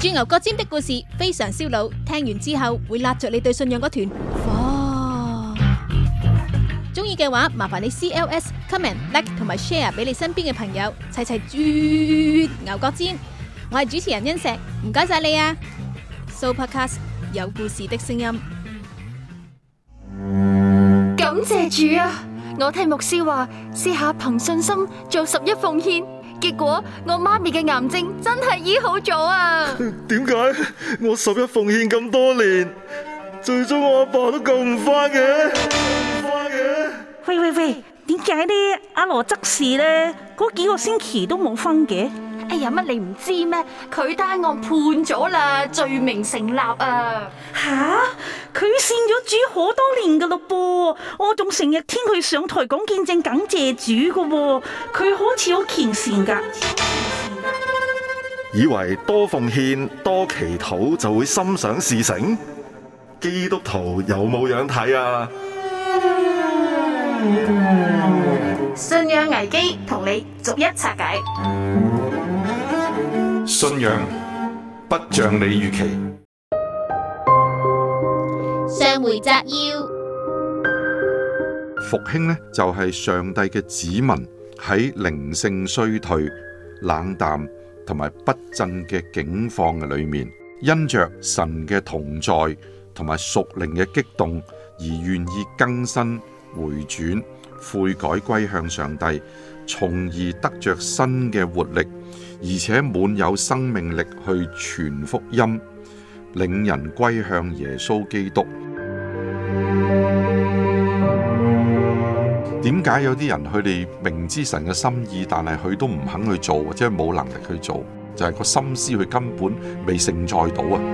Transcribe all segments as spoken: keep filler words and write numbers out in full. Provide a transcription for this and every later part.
住牛角尖的故事非常燒腦，聽完之後會拉著你對信仰嗰團火。中意嘅話，麻煩你 C L S、comment、like 同埋 share 俾你身邊嘅朋友，齊齊豬牛角尖。我係主持人欣石，唔該晒你啊！Sooopodcast 有故事的聲音。 感謝主啊！我聽牧師話，試下憑信心做十一奉獻，結果我媽咪嘅癌症真係醫好咗啊！ 點解我十一奉獻咁多年，最終我阿爸都救唔翻嘅？救唔翻嘅？ 喂喂喂，點解呢？阿羅執事呢？嗰幾個星期都冇分嘅？ 哎呀，乜你唔知咩？佢單案判咗啦，罪名成立啊！ 吓，佢信咗主好多年噶咯噃，我仲成日聽佢上台講見證感謝主噶喎，佢好似好虔誠噶。 以為多奉獻多祈禱就會心想事成？基督徒有冇樣睇啊？ 信仰危機同你逐一拆解。 信仰不像你預期。 上回摘要， 復興呢，就係上帝嘅子民喺靈性衰退、冷淡同埋不振嘅境況嘅裏面，因着神嘅同在同埋屬靈嘅激動而願意更新回轉、悔改歸向上帝，從而得着新嘅活力，而且滿有生命力去傳福音，領人歸向耶穌基督。點解有啲人佢哋明知神嘅心意，但係佢都唔肯去做，或者冇能力去做，就係個心思佢根本未承載到啊！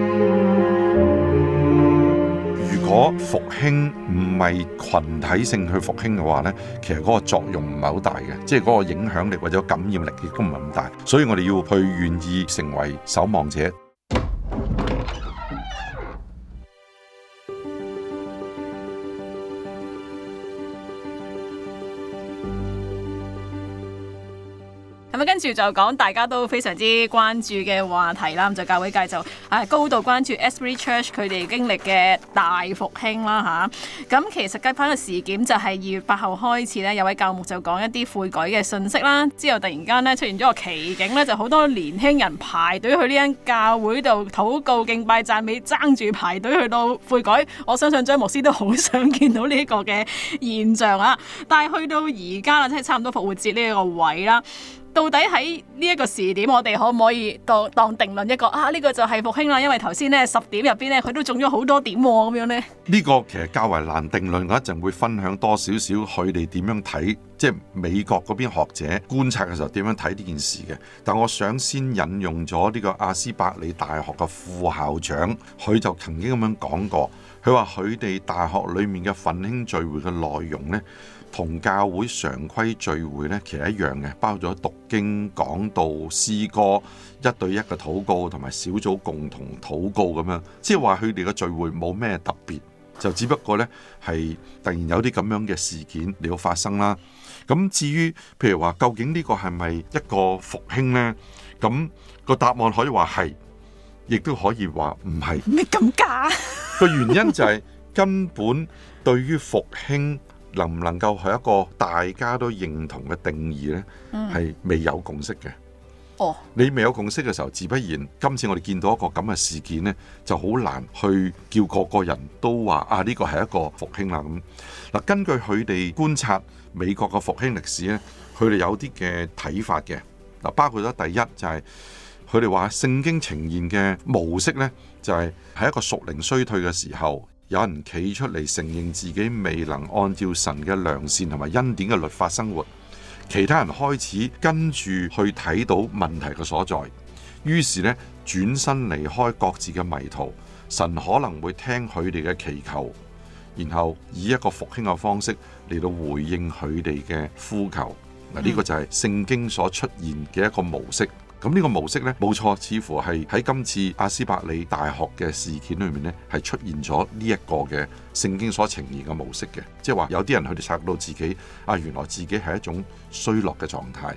如果復興唔係群體性去復興嘅話呢，其實嗰個作用唔係好大嘅，即係嗰個影響力或者感染力亦都唔係咁大，所以我哋要去願意成為守望者。 咁啊，跟住就講大家都非常之關注嘅話題啦。咁就教會界就啊高度關注 Asbury Church 佢哋經歷嘅大復興啦嚇。咁其實計翻個事件就係二月八號開始咧，有位教牧就講一啲悔改嘅信息啦。之後突然間咧出現咗個奇景咧，就好多年輕人排隊去呢間教會度禱告敬拜讚美，爭住排隊去到悔改。我相信張牧師都好想見到呢個嘅現象啊！但係去到而家啦，即係差唔多復活節呢一個位啦。到底喺呢一個時點，我哋可唔可以當當定論一個啊？呢、這個就係復興啦，因為頭先咧十點入邊咧，佢都中咗好多點咁、啊、樣咧。呢個其實較為難定論，我一陣會分享多少少佢哋點樣睇，即係美國嗰邊學者觀察嘅時候點樣睇呢件事嘅。但我想先引用咗呢個阿斯伯里大學嘅副校長，佢就曾經咁樣講過，佢話佢哋大學裡面嘅奮興聚會嘅內容呢，同教會常規聚會呢，其實一樣嘅，包咗讀經、講道、詩歌、一對一嘅禱告同埋小組共同禱告咁樣，即係話佢哋嘅聚會冇咩特別，就只不過呢係突然有啲咁樣嘅事件嚟到發生啦。咁至於譬如話，究竟呢個係咪一個復興呢？咁個答案可以話係，亦都可以話唔係。 咩咁假？ 個原因就係根本對於復興能唔能夠係一個大家都認同嘅定義呢，係、嗯、未有共識嘅。哦，你未有共識嘅時候，自不然今次我哋見到一個咁嘅事件呢，就好難去叫個個人都話啊呢個係一個復興啦咁。嗱，根據佢哋觀察美國嘅復興歷史呢，佢哋有啲嘅睇法嘅。嗱，包括咗第一就係佢哋話聖經呈現嘅模式呢，就係喺一個屬靈衰退嘅時候，有人企出嚟承認自己未能按照神嘅良善同埋恩典嘅律法生活，其他人開始跟住去睇到問題嘅所在，於是呢轉身離開各自嘅迷途，神可能會聽佢哋嘅祈求，然後以一個復興嘅方式嚟到回應佢哋嘅呼求。嗱，呢個就係聖經所出現嘅一個模式。咁呢個模式呢，冇錯，似乎係喺今次阿斯伯里大學嘅事件裏面呢，係出現咗呢一個嘅聖經所呈現嘅模式嘅，即係話有啲人佢哋察覺到自己啊，原來自己係一種衰落嘅狀態，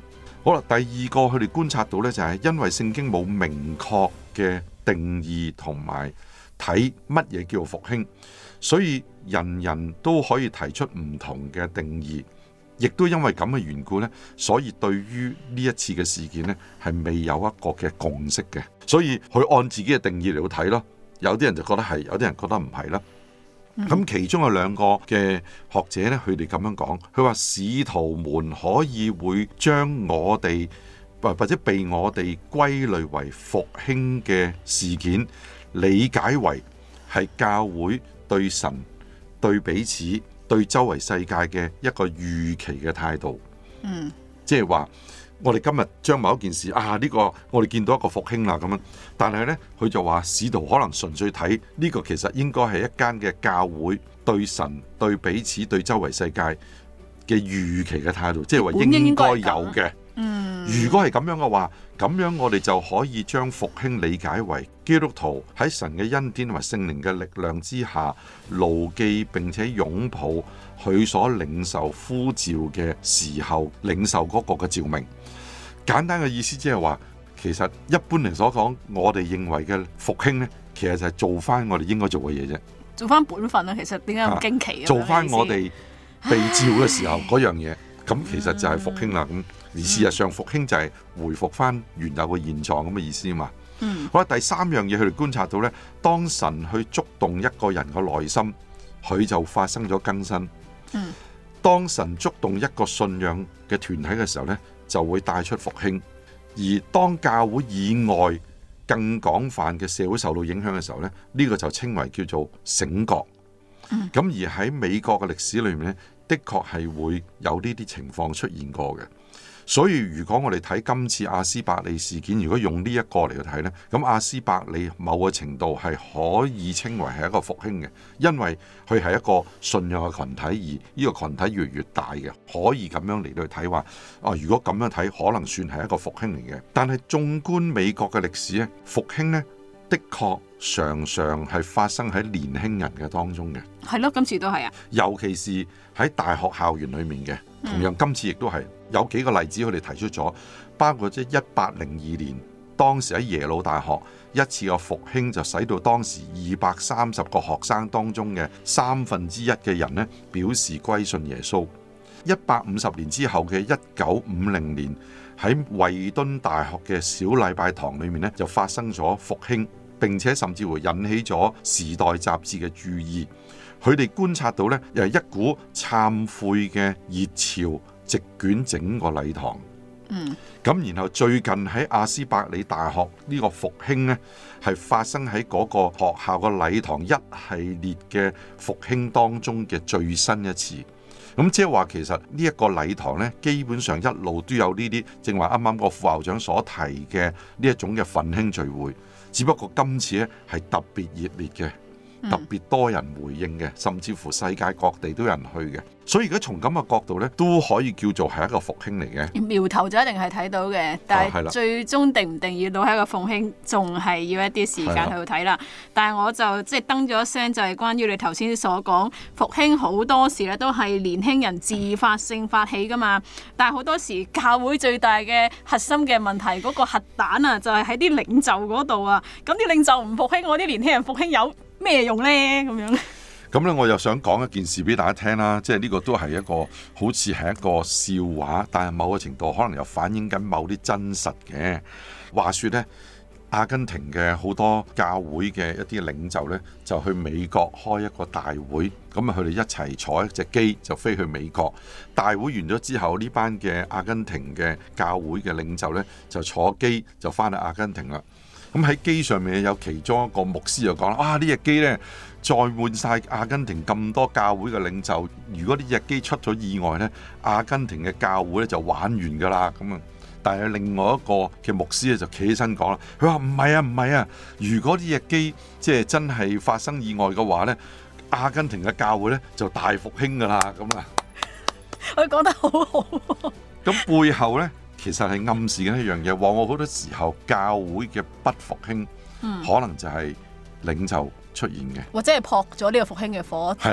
好啦，第二個佢哋觀察到呢，就係因為聖經冇明確嘅定義同埋睇乜嘢叫做復興，所以人人都可以提出唔同嘅定義，亦都因為咁嘅緣故呢，所以對於呢一次嘅事件呢，係未有一個嘅共識嘅，所以佢按自己嘅定義嚟到睇咯。有啲人就覺得係，有啲人覺得唔係啦。咁、嗯、其中有兩個嘅學者呢，佢哋咁樣講，佢話使徒們可以會將我哋或或者被我哋歸類為復興嘅事件，理解為係教會對神、對彼此、對周圍世界嘅一個預期嘅態度。嗯，即係話我哋今日將某一件事啊，呢個我哋見到一個復興啦咁樣，但係呢，佢就話使徒可能純粹睇呢個其實應該係一間嘅教會對神、對彼此、對周圍世界嘅預期嘅態度，即係話應該有嘅。嗯，如果係咁樣嘅話，咁樣我哋就可以將復興理解為基督徒喺神嘅恩典同埋聖靈嘅力量之下，牢記並且擁抱佢所領受呼召嘅時候，領受嗰個嘅召命。簡單嘅意思即係話，其實一般嚟所講，我哋認為嘅復興呢，其實就係做翻我哋應該做嘅嘢啫，做翻本分啦。其實點解咁驚奇？做翻我哋被召嘅時候嗰樣嘢，咁其實就係復興啦。咁而事實上，復興就係回復翻原有嘅現狀咁嘅意思嘛。嗯，好啦，第三樣嘢佢哋觀察到呢，當神去觸動一個人嘅內心，佢就發生咗更新。嗯，當神觸動一個信仰嘅團體嘅時候呢，就會帶出復興。而當教會以外更廣泛嘅社會受到影響嘅時候呢，呢、呢個就稱為叫做醒覺。咁、嗯、而喺美國嘅歷史裏面呢，的確係會有呢啲情況出現過嘅。所以如果我哋睇今次亞斯伯利事件，如果用呢一個嚟去睇呢，咁亞斯伯利某個程度係可以稱為係一個復興嘅，因為佢係一個信仰嘅群體，而呢個群體越嚟越大嘅，可以咁樣嚟到去睇話，啊，如果咁樣睇，可能算係一個復興嚟嘅。但係縱觀美國嘅歷史咧，復興呢的確常常係發生喺年輕人嘅當中嘅。係咯，今次都係啊，尤其是喺大學校園裏面嘅，同樣今次亦都係。有幾個例子佢哋提出咗，包括即係一八零二年，當時喺耶魯大學一次嘅復興，就使到當時二百三十個學生當中嘅三分之一嘅人呢表示歸信耶穌。一百五十年之後嘅一九五零年，喺惠敦大學嘅小禮拜堂裏面呢，就發生咗復興，並且甚至乎引起咗《時代》雜誌嘅注意。佢哋觀察到呢，又係一股懺悔嘅熱潮席捲整個禮堂。嗯，咁然後最近喺亞斯伯里大學呢個復興呢，係發生喺嗰個學校個禮堂一系列嘅復興當中嘅最新一次。咁即係話，其實呢一個禮堂呢，基本上一路都有呢啲，正話啱啱個副校長所提嘅呢一種嘅奮興聚會，只不過今次呢係特別熱烈嘅。特別多人回應嘅，甚至乎世界各地都有人去嘅，所以如果從咁嘅角度呢，都可以叫做係一個復興嚟嘅。苗頭就一定係睇到嘅，但係最終定唔定要到係一個復興，仲係要一啲時間去睇啦。但係我就即係登咗一聲，就係關於你頭先所講復興好多時咧都係年輕人自發性發起噶嘛。但係好多時教會最大嘅核心嘅問題，嗰個核彈啊，就係喺啲領袖嗰度啊。咁啲領袖唔復興，我啲年輕人復興有咩用呢？咁樣咁咧，我又想講一件事俾大家聽啦，即係呢個都係一個好似係一個笑話，但係某個程度可能又反映緊某啲真實嘅。話說呢，阿根廷嘅好多教會嘅一啲領袖呢，就去美國開一個大會，咁啊佢哋一齊坐一隻機就飛去美國。大會完咗之後，呢班嘅阿根廷嘅教會嘅領袖呢，就坐機就翻去阿根廷啦。咁喺機上面有其中一個牧師就講啦，啊呢隻機呢，載滿晒阿根廷咁多教會嘅領袖，如果呢隻機出咗意外呢，阿根廷嘅教會呢就玩完噶啦。咁啊，但係另外一個嘅牧師咧就企起身講啦，佢話唔係啊唔係啊，如果呢隻機即係真係發生意外嘅話呢，阿根廷嘅教會呢就大復興噶啦。咁啊，佢講得好好。咁背後呢，其實係暗示緊一樣嘢，往往好多時候教會嘅不復興，嗯、可能就係領袖出現嘅，或者係撲咗呢個復興嘅火。係啦，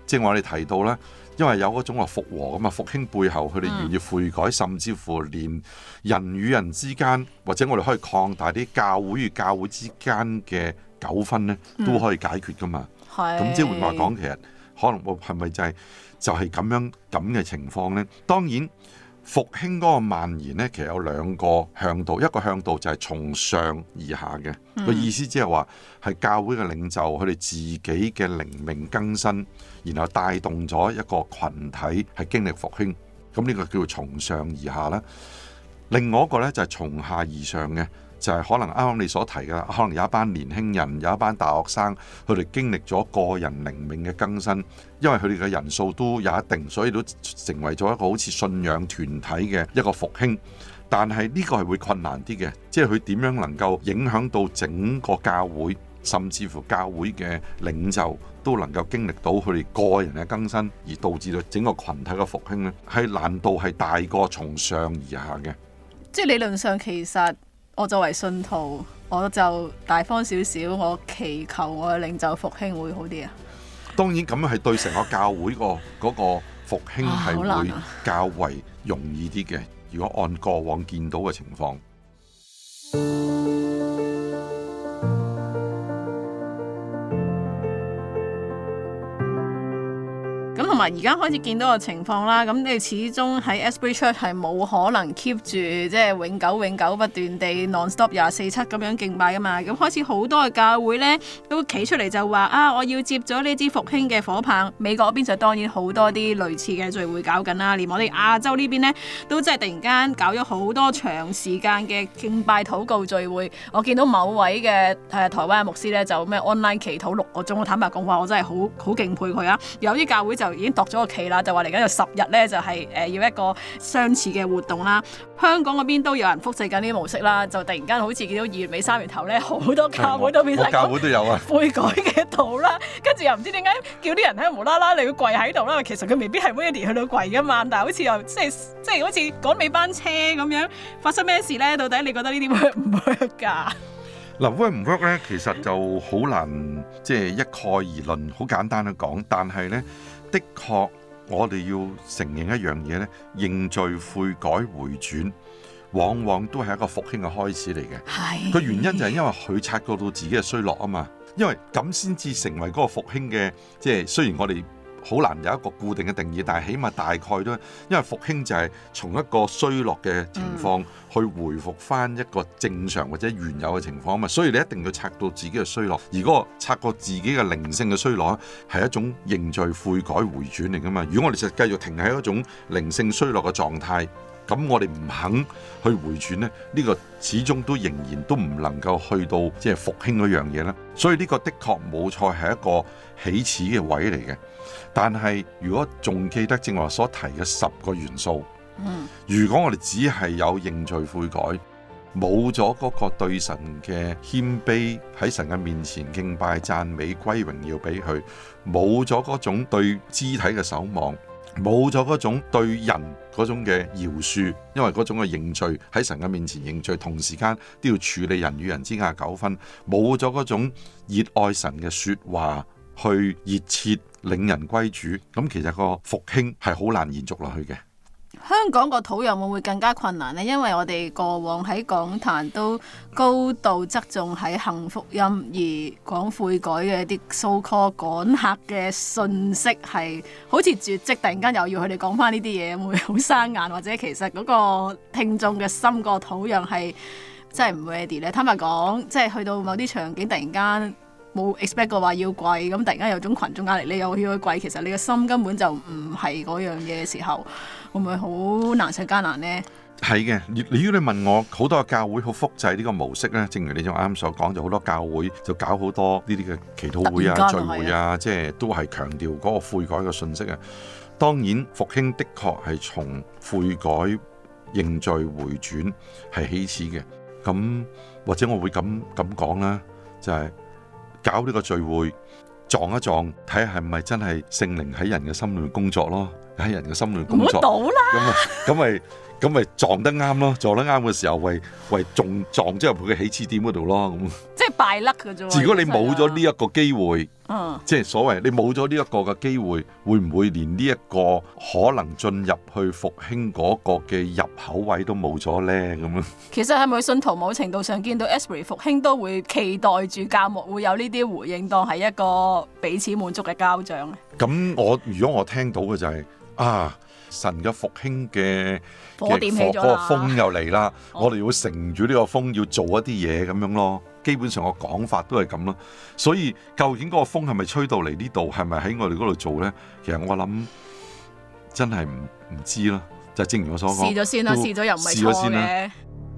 正話我哋提到啦，因為有嗰種話復和咁啊，復興背後佢哋願意悔改，嗯、甚至乎連人與人之間，或者我哋可以擴大啲教會與教會之間嘅糾紛咧，都可以解決噶嘛。咁、嗯、即係換話講，其實可能我係咪就係、是、就係、是、咁樣咁嘅情況咧？當然。復興嗰個蔓延呢，其實有兩個向度，一個向度就係從上而下嘅，個、嗯、意思即係話係教會嘅領袖佢哋自己嘅靈命更新，然後帶動咗一個群體係經歷復興，咁呢個叫做從上而下啦。另外一個呢，就係從下而上嘅，就係可能啱啱你所提嘅啦，可能有一班年輕人，有一班大學生，佢哋經歷咗個人靈命嘅更新，因為佢哋嘅人數都有一定，所以都成為咗一個好似信仰團體嘅一個復興。但係呢個係會困難啲嘅，即係佢點樣能夠影響到整個教會，甚至乎教會嘅領袖都能夠經歷到佢哋個人嘅更新，而導致到整個群體嘅復興呢，係難度係大過從上而下嘅。 即係理論上其實。我作為信徒，我就大方少少，我祈求我嘅領袖復興會好啲啊！ 當然咁樣係對成個教會個嗰個復興係會較為容易啲嘅。如果按過往見到嘅情況。 咁同埋而家開始見到個情況啦，咁你始終喺 Asbury Church 係冇可能 keep 住即係永久永久不斷地 non-stop 廿四七咁樣敬拜噶嘛，咁開始好多嘅教會呢都企出嚟就話啊，我要接咗呢支復興嘅火棒。美國嗰邊就當然好多啲類似嘅聚會搞緊啦，連我哋亞洲呢邊呢都真係突然間搞咗好多長時間嘅敬拜禱告聚會。我見到某位嘅誒、呃、台灣嘅牧師呢，就咩 online 祈禱六個鐘，我坦白講話我真係好好敬佩佢啊！有啲教會就已經度咗個期啦，就話嚟緊有十日咧，就係、是、誒、呃、要一個相似嘅活動啦。香港嗰邊都有人複製緊呢啲模式啦，就突然間好似見到二月尾三月頭咧，好多教會都變成教會都有啊悔改嘅圖啦，跟住又唔知點解叫啲人喺無啦啦你要跪喺度啦，其實佢未必係每一年去到跪噶嘛，但係好似又即係即係好似趕尾班車咁樣，發生咩事咧？到底你覺得呢啲 work 唔 work 㗎？ 嗱 work 唔 work 咧，其實就好難即係一概而論，好簡單去講。但係咧，的確我哋要承認一樣嘢咧，認罪悔改回轉，往往都係一個復興嘅開始嚟嘅。係個原因就係因為佢察覺到自己嘅衰落啊嘛，因為咁先至成為嗰個復興嘅，即係雖然我哋好難有一個固定嘅定義，但係起碼大概都，因為復興就係從一個衰落嘅情況去回復翻一個正常或者原有嘅情況啊嘛，所以你一定要察到自己嘅衰落，而嗰個察覺自己嘅靈性嘅衰落係一種認罪悔改回轉嚟噶嘛。如果我哋就繼續停喺一種靈性衰落嘅狀態，咁我哋唔肯去回轉呢，呢個始終都仍然都唔能夠去到即係復興嗰樣嘢啦。所以呢個的確冇錯係一個起始嘅位嚟嘅。但係如果仲記得正話所提嘅十個元素，嗯、如果我哋只係有認罪悔改，冇咗嗰個對神嘅謙卑，喺神嘅面前敬拜讚美歸榮耀俾佢，冇咗嗰種對肢體嘅守望，冇咗嗰種對人嗰種嘅饒恕，因為嗰種嘅認罪喺神嘅面前認罪，同時間都要處理人與人之間嘅糾紛，冇咗嗰種熱愛神嘅說話，去熱切領人歸主，咁其實個復興係好難延續落去嘅。 香港個土壤會唔會更加困難呢？因為我哋過往喺講壇都高度側重喺行福音，而講悔改嘅啲 so call 趕客嘅信息係好似絕跡，突然間又要佢哋講翻呢啲嘢，會唔會好生硬？或者其實嗰個聽眾嘅心個土壤係真係唔 ready 咧？坦白講，即係去到某啲場景，突然間冇 expect 過話要跪，咁突然間有種群眾壓力，你又要去跪，其實你嘅心根本就唔係嗰樣嘢嘅時候，會唔會好難上加難呢？ 係嘅，如果你問我，好多教會好複製呢個模式呢，正如你仲啱啱所講，就好多教會就搞好多呢啲嘅祈禱會啊、聚會啊，即係都係強調嗰個悔改嘅信息啊。當然復興的確係從悔改認罪回轉係起始嘅，咁或者我會咁咁講啦，就係、是。搞呢個聚會撞一撞，睇下係咪真係聖靈喺人嘅心裏面工作咯？喺人嘅心裏面工作，咁啊，咁咪咁咪撞得啱咯？撞得啱嘅時候，為為撞撞咗入去嘅起始點嗰度咯。咁即係敗甩嘅啫喎。 如果你冇咗呢一個機會， 嗯， 即係所謂你冇咗呢一個嘅機會，會唔會連呢一個可能進入去復興嗰個嘅入口位都冇咗呢？咁樣其實係咪信徒某程度上見到 Asbury 復興都會期待住教牧會有呢啲回應，當係一個彼此滿足嘅交賬咧？ 咁我如果我聽到嘅就係、是、啊，神嘅復興嘅火點起咗啦， 嗰個風又嚟啦， 哦、 我哋要乘住呢個風要做一啲嘢咁樣咯。基本上個講法都係咁咯。所以究竟嗰個風係咪吹到嚟呢度，係咪喺我哋嗰度做呢？其實我諗真係唔唔知咯。就正如我所講， 試咗先啦，試咗又唔係錯嘅。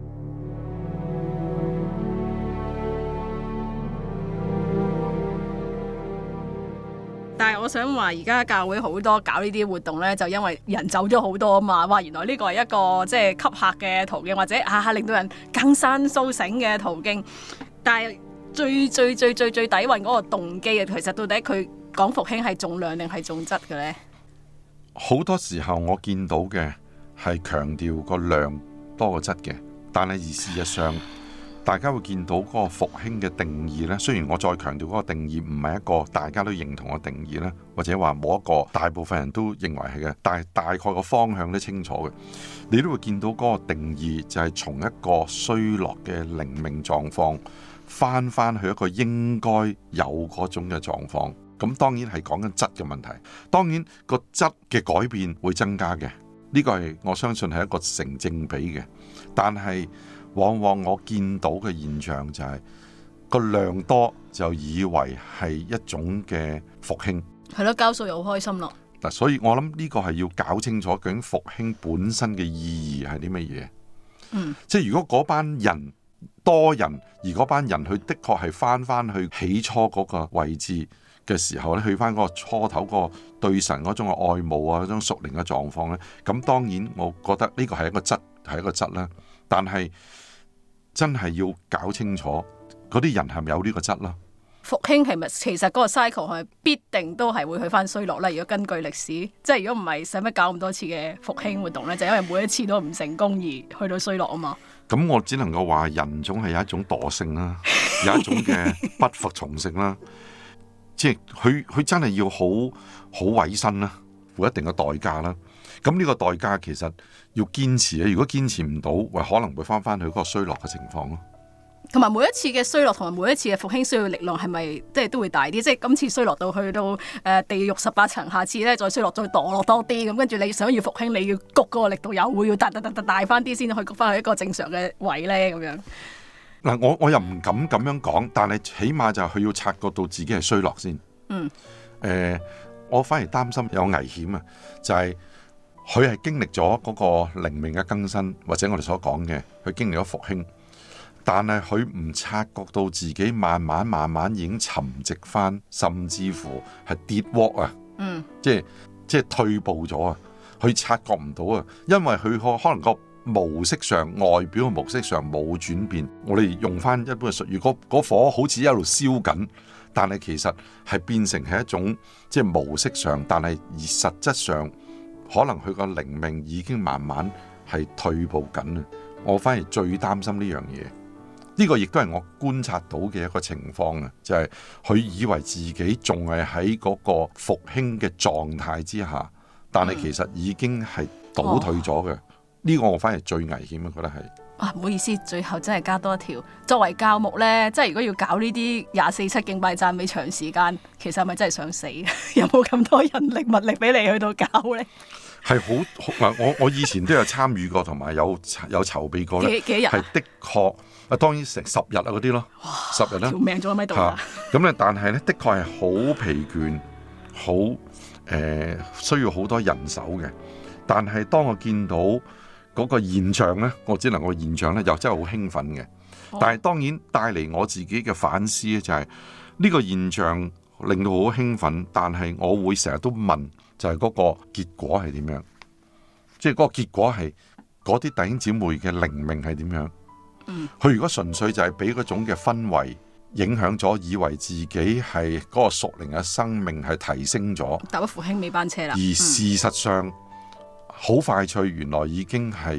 但係我想話，而家教會好多搞呢啲活動呢，就因為人走咗好多啊嘛。哇，原來呢個係一個即係吸客嘅途徑，或者下下令到人更新甦醒嘅途徑。但係最最最最最底蘊嗰個動機啊，其實到底佢講復興係重量定係重質嘅呢？ 好多時候我見到嘅係強調個量多過質嘅，但係而事實上，大家會見到嗰個復興嘅定義呢。雖然我再強調嗰個定義唔係一個大家都認同嘅定義呢，或者話冇一個大部分人都認為係嘅，但係大概個方向都清楚嘅。你都會見到嗰個定義就係從一個衰落嘅靈命狀況翻翻去一個應該有嗰種嘅狀況。咁當然係講緊質嘅問題，當然個質嘅改變會增加嘅，呢個係我相信係一個成正比嘅。但係往往我見到嘅現象就係個量多就以為係一種嘅復興， 係咯，交數又好開心咯。 嗱，所以我諗呢個係要搞清楚究竟復興本身嘅意義係啲乜嘢。 嗯， 即係如果嗰班人多人，而嗰班人佢的確係翻翻去起初嗰個位置嘅時候咧，去翻嗰個初頭嗰個對神嗰種嘅愛慕啊，嗰種屬靈嘅狀況咧，咁當然我覺得呢個係一個質，係一個質啦。但係真係要搞清楚嗰啲人係咪有呢個質啦？ 復興係咪其實嗰個 cycle 係咪必定都係會去翻衰落咧？如果根據歷史，即係如果唔係使乜搞咁多次嘅復興活動咧，就因為每一次都唔成功而去到衰落啊嘛。 咁我只能夠話人總係有一種惰性啦，有一種嘅不服從性啦。即係佢佢真係要好好委身啦，付一定嘅代價啦。咁呢個代價其實要堅持啊！如果堅持唔到，喂，可能會翻翻去嗰個衰落嘅情況咯。 同埋每一次嘅衰落，同埋每一次嘅復興需要力量，係咪即係都會大啲？即係今次衰落到去到誒地獄十八層，下次咧再衰落再墮落多啲咁，跟住你想要復興，你要谷嗰個力度又會要大大大大大翻啲，先可以谷翻去一個正常嘅位咧咁樣。 嗱，我我又唔敢咁樣講，但係起碼就係佢要察覺到自己係衰落先。 嗯。 誒、呃，我反而擔心有危險啊！就係佢係經歷咗嗰個靈命嘅更新，或者我哋所講嘅，佢經歷咗復興，但係佢唔察覺到自己慢慢慢慢已經沉寂翻，甚至乎係跌窩啊！ 嗯。即係即係退步咗啊！佢察覺唔到啊，因為佢可可能個模式上外表嘅模式上冇轉變。我哋用翻一般嘅術語，如果嗰火好似一路燒緊，但係其實係變成係一種即係模式上，但係而實質上可能佢個靈命已經慢慢係退步緊啊！我反而最擔心呢樣嘢，呢個亦都係我觀察到嘅一個情況啊！就係佢以為自己仲係喺嗰個復興嘅狀態之下，但係其實已經係倒退咗嘅。呢個我反而最危險啊！覺得係啊，唔好意思，最後真係加多一條。作為教牧呢，即係如果要搞呢啲廿四七敬拜讚美長時間，其實係咪真係想死？有冇咁多人力物力俾你去到搞呢？ 係好嗱，我我以前都有參與過，同埋有有籌備過咧。 幾幾日？ 係的確啊，當然成十日啊嗰啲咯，十日啦， 條命仲喺度啊！ 咁咧，但係咧，的確係好疲倦，好誒、呃、需要好多人手嘅。但係當我見到嗰個現象咧，我只能個現象咧又真係好興奮嘅。但係當然帶嚟我自己嘅反思咧，就係呢個現象令到好興奮，但係我會成日都問，就係嗰個結果係點樣？即係嗰個結果係嗰啲弟兄姊妹嘅靈命係點樣？嗯，佢如果純粹就係俾嗰種嘅氛圍影響咗，以為自己係嗰個屬靈嘅生命係提升咗， 搭咗復興尾班車啦。 而事實上好、嗯、快脆，原來已經係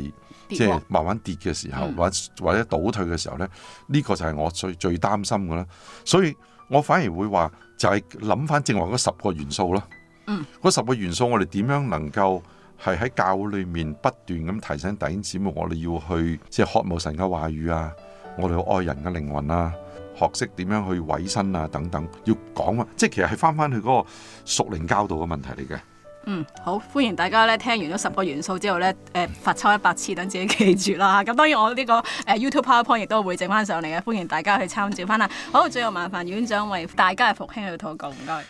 即係慢慢跌嘅時候， 嗯、 或者或者倒退嘅時候咧，呢、這個就係我最最擔心嘅啦。所以我反而會話就係諗翻正話嗰十個元素咯。 嗯， 嗰十個元素我哋點樣能夠係喺教會裏面不斷咁提醒弟兄姊妹，我哋要去即係渴慕神嘅話語啊，我哋要愛人嘅靈魂啊，學識點樣去委身啊等等，要講啊，即係其實係翻翻去嗰個屬靈教導嘅問題嚟嘅。 嗯，好，歡迎大家咧聽完咗十個元素之後咧，誒、呃、罰抽一百次，等自己記住啦。咁當然我呢、這個誒、呃、YouTube PowerPoint 亦都會整翻上嚟嘅，歡迎大家去參照翻啦。好，最後麻煩院長為大家嘅復興去禱告，唔該。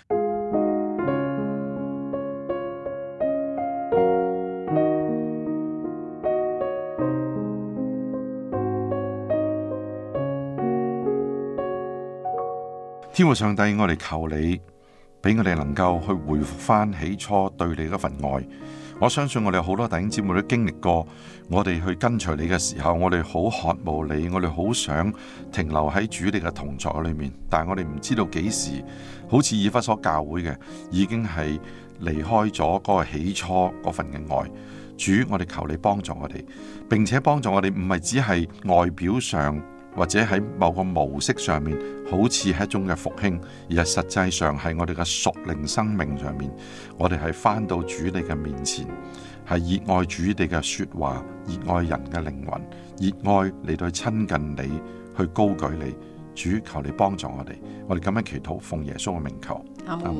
天父上帝，我哋求你俾我哋能夠去回復翻起初對你嗰份愛。我相信我哋好多弟兄姊妹都經歷過，我哋去跟隨你嘅時候，我哋好渴慕你，我哋好想停留喺主你嘅同在裏面，但係我哋唔知道幾時，好似以弗所教會嘅，已經係離開咗嗰個起初嗰份嘅愛。主，我哋求你幫助我哋，並且幫助我哋唔係只係外表上，或者喺某個模式上面，好似係一種嘅復興，而係實際上係我哋嘅屬靈生命上面，我哋係返到主你嘅面前，係熱愛主你嘅說話，熱愛人嘅靈魂，熱愛嚟到去親近你，去高舉你。主，求你幫助我哋，我哋咁樣祈禱，奉耶穌嘅名求，阿門。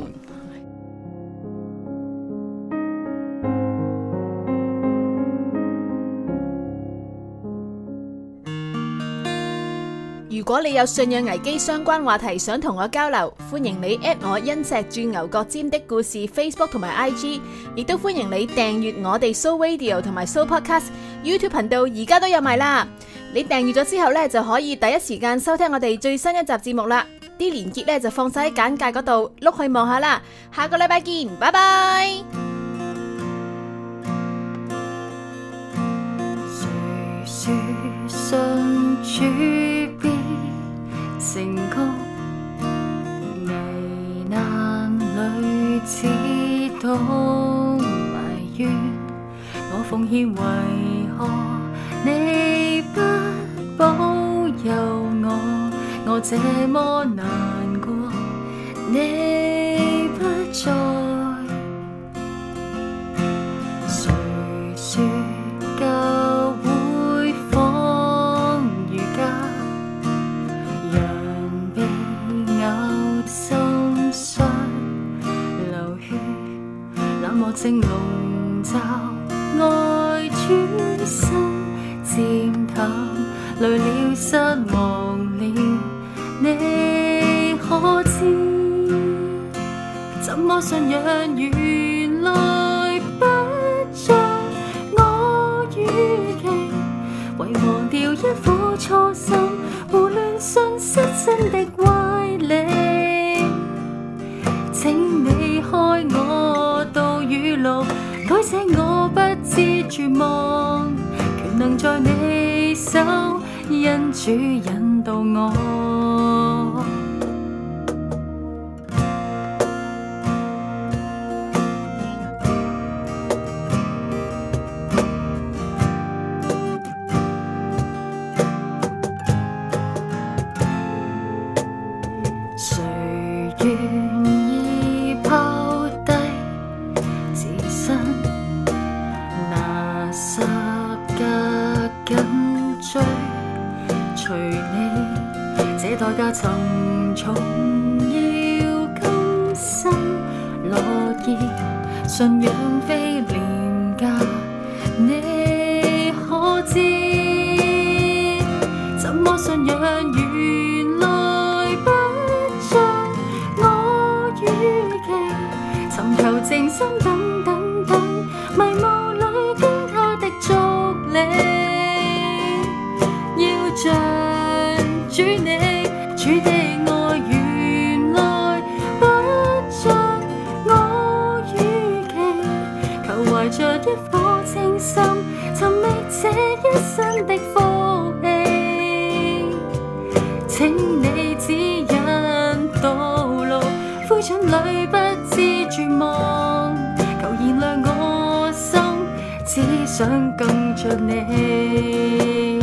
如果你有信仰危機相關話題想同我交流，歡迎你 at 我因石鑽牛角尖的故事 Facebook 同埋 I G， 亦都歡迎你訂閱我哋 So Radio 同埋 So Podcast YouTube 頻道，而家都有埋啦。你訂閱咗之後呢，就可以第一時間收聽我哋最新一集節目啦。啲連結呢就放晒喺簡介嗰度，碌去望下啦。下個禮拜見，拜拜。 誰說信主必成功？危難裏只懂埋怨，我奉獻為何你不保佑我？我這麼難過，你不在。誰說教會仿如家，人被咬心傷流血，冷漠正籠罩愛轉身漸淡，累了失望了，你可知？怎麼信仰原來不像我預期，遺忘掉一顆初心，胡亂信失真的歪理。請你開我道與路，改寫我不知絕望，權能在你手，因主引導我。誰願意拋低自身，拿十架緊追隨你？這代價沉重，要甘心樂意，信仰非廉價，你可知？怎麼信仰原來不像我預期，尋求靜心等等等，迷霧裏經他的足理，要像主你，主的愛原來不像我預期，求懷着一顆清心，尋覓這一生的福氣，請你指引道路，灰燼裏不知絕望，求燃亮我心， 只想跟着你，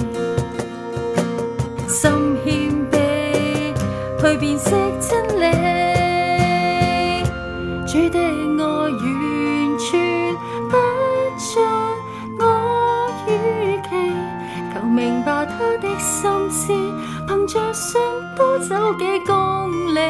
心謙卑去辨識真理，主的愛完全不像我預期，求明白他的心思，憑着信都走幾公里，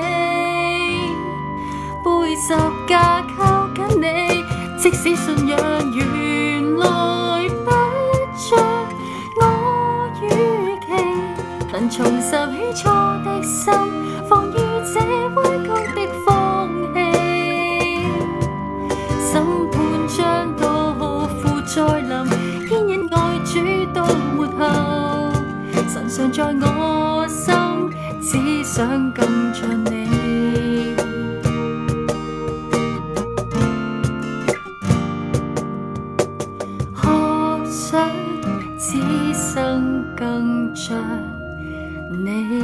背十架靠緊你，即使信仰原來不像我預期，能重拾起初的心，防禦這彎曲的風氣，審判將到負再臨，牽引愛主到末後，神常在我心，只想跟着你。此生更像你。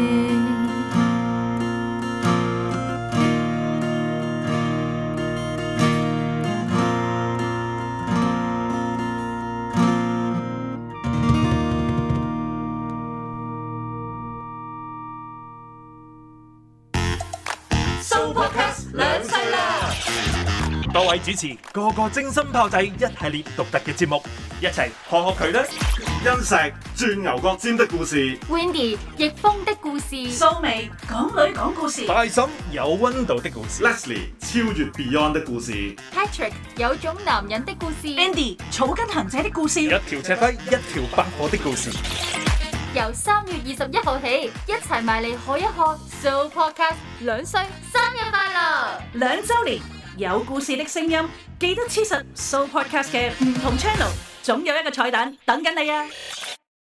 Sooo Podcast 兩世啦！多位主持個個精心炮製一系列獨特嘅節目，一齊學學佢啦！ 欣石鑽牛角尖的故事 Wendy 逆風的故事， 蘇眉港女講故事， 大嬸有溫度的故事 ，Leslie 超越 Beyond 的故事 Patrick 有種男人的故事， Andy 草根行者的故事， 一條赤輝一條百貨的故事。 由三月二十一號起，一齊埋嚟學一學 Sooo Podcast 兩歲生日快樂！ 兩週年有故事的聲音，記得黐實 Sooo Podcast 嘅唔同 channel，總有一個彩蛋等緊你啊！